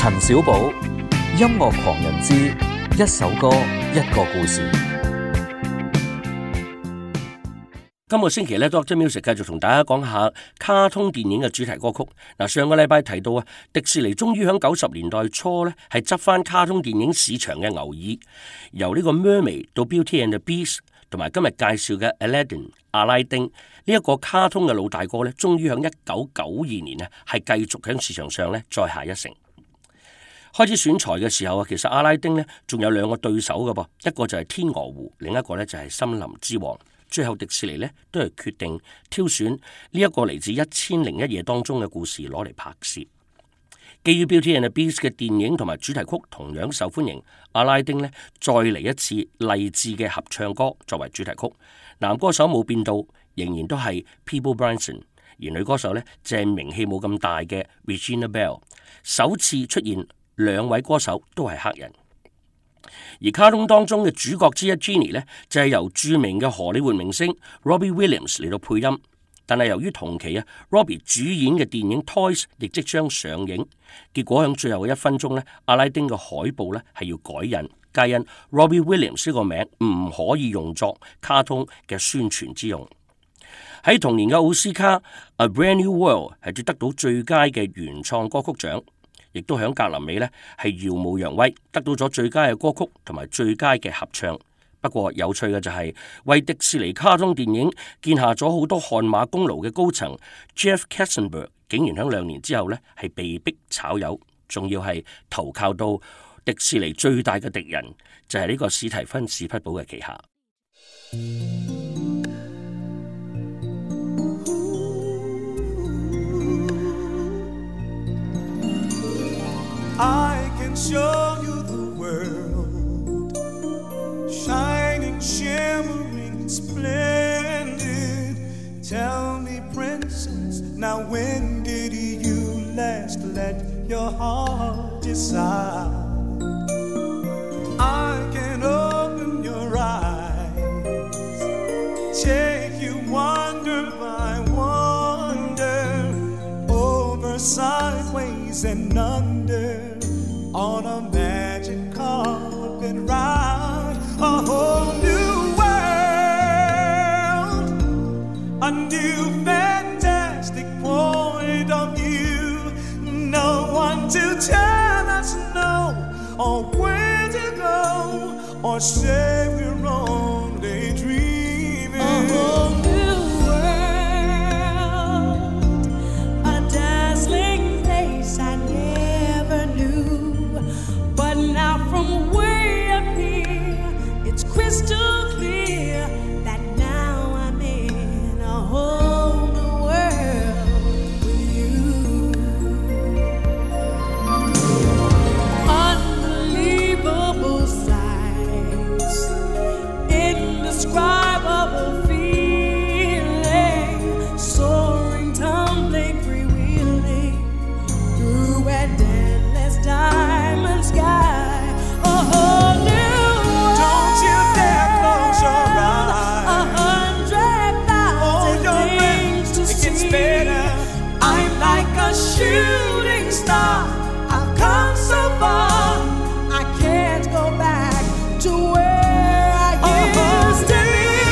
陳小寶，音樂狂人之一首歌一個故事。 今個星期咧 Dr. Music 繼續同大家講下卡通電影嘅主題歌曲。嗱，上個禮拜提到啊，迪士尼終於喺90年代初咧係執翻卡通電影市場嘅牛耳，由呢個 Mermaid 到 Beauty and the Beast， 同埋今日介紹嘅 Aladdin 阿拉丁呢一個卡通嘅老大哥咧，終於喺1992年啊係繼續喺市場上咧再下一城。開始選材嘅時候啊，其實阿拉丁咧仲有兩個對手嘅噃，一個就係天鵝湖，另一個咧就係森林之王。最後迪士尼咧都係決定挑選呢一個嚟自1001夜當中嘅故事攞嚟拍攝。基於 Beauty and the Beast 嘅電影同埋主題曲同樣受歡迎，阿拉丁咧再嚟一次勵志嘅合唱歌作為主題曲。男歌手冇變到，仍然都係 Peabo Bryson， 而女歌手咧就係名氣冇咁大嘅 Regina Belle。首次出現兩位歌手都係黑人。而卡通當中嘅主角之一 Genie 呢，就係由著名嘅荷里活明星 Robbie Williams 嚟到配音，但係由於同期啊 Robbie 主演嘅電影 Toys 亦即將上映，結果喺最後嘅1分鐘呢，阿拉丁嘅海報呢係要改印，皆因 Robbie Williams 呢個名唔可以用作卡通嘅宣傳之用。喺同年嘅奧斯卡 A Brand New World 係奪得到最佳嘅原創歌曲獎，亦都響格林美呢係耀武揚威，得到咗最佳嘅歌曲同埋最佳嘅合唱。不過有趣嘅就係、為迪士尼卡通電影建下咗好多汗馬功勞嘅高層 Jeff Katzenberg 竟然喺2年之後呢係被逼炒魷，仲要係投靠到迪士尼最大嘅敵人，就係呢個史提芬史匹堡嘅旗下。 I can show you the world, shining, shimmering, splendid. Tell me, princess, now when did you last let your heart decide? I can open your eyes, take you wonder by wonder, over, sideways, and under.On a magic carpet ride, a whole new world, a new fantastic point of view. No one to tell us no, or where to go, or say we're only dreaming. A whole new world, a dazzling place I never knew.But now from way up here, it's crystal clear that now I'm in a whole new world with you. Unbelievable sights, indescribable feeling, soaring, tumbling, freewheeling through an endless diamond.Sky, a whole new world. Don't you dare close your eyes. 100,000 things to see. It gets better. I'm like a shooting star. I've come so far. I can't go back to where I used to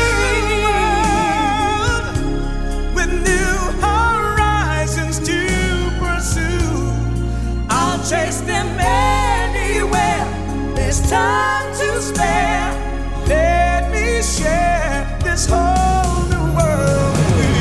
be. With new horizons to pursue, I'll chase them.There's time to spare. Let me share this whole new world with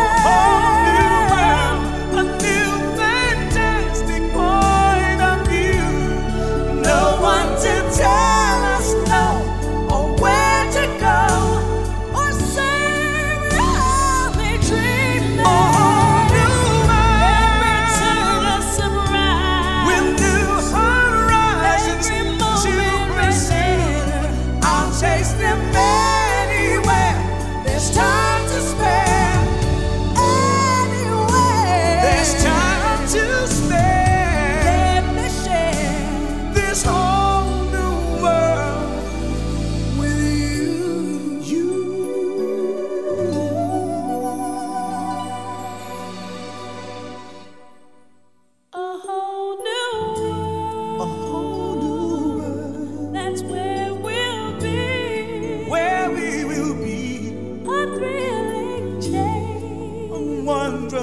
you.Oh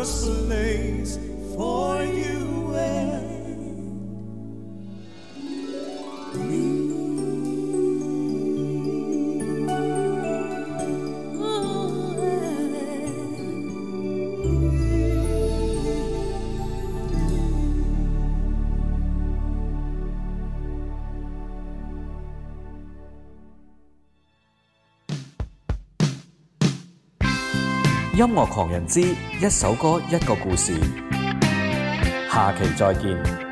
just place for you and me. 音樂狂人之一首歌一個故事，下期再見。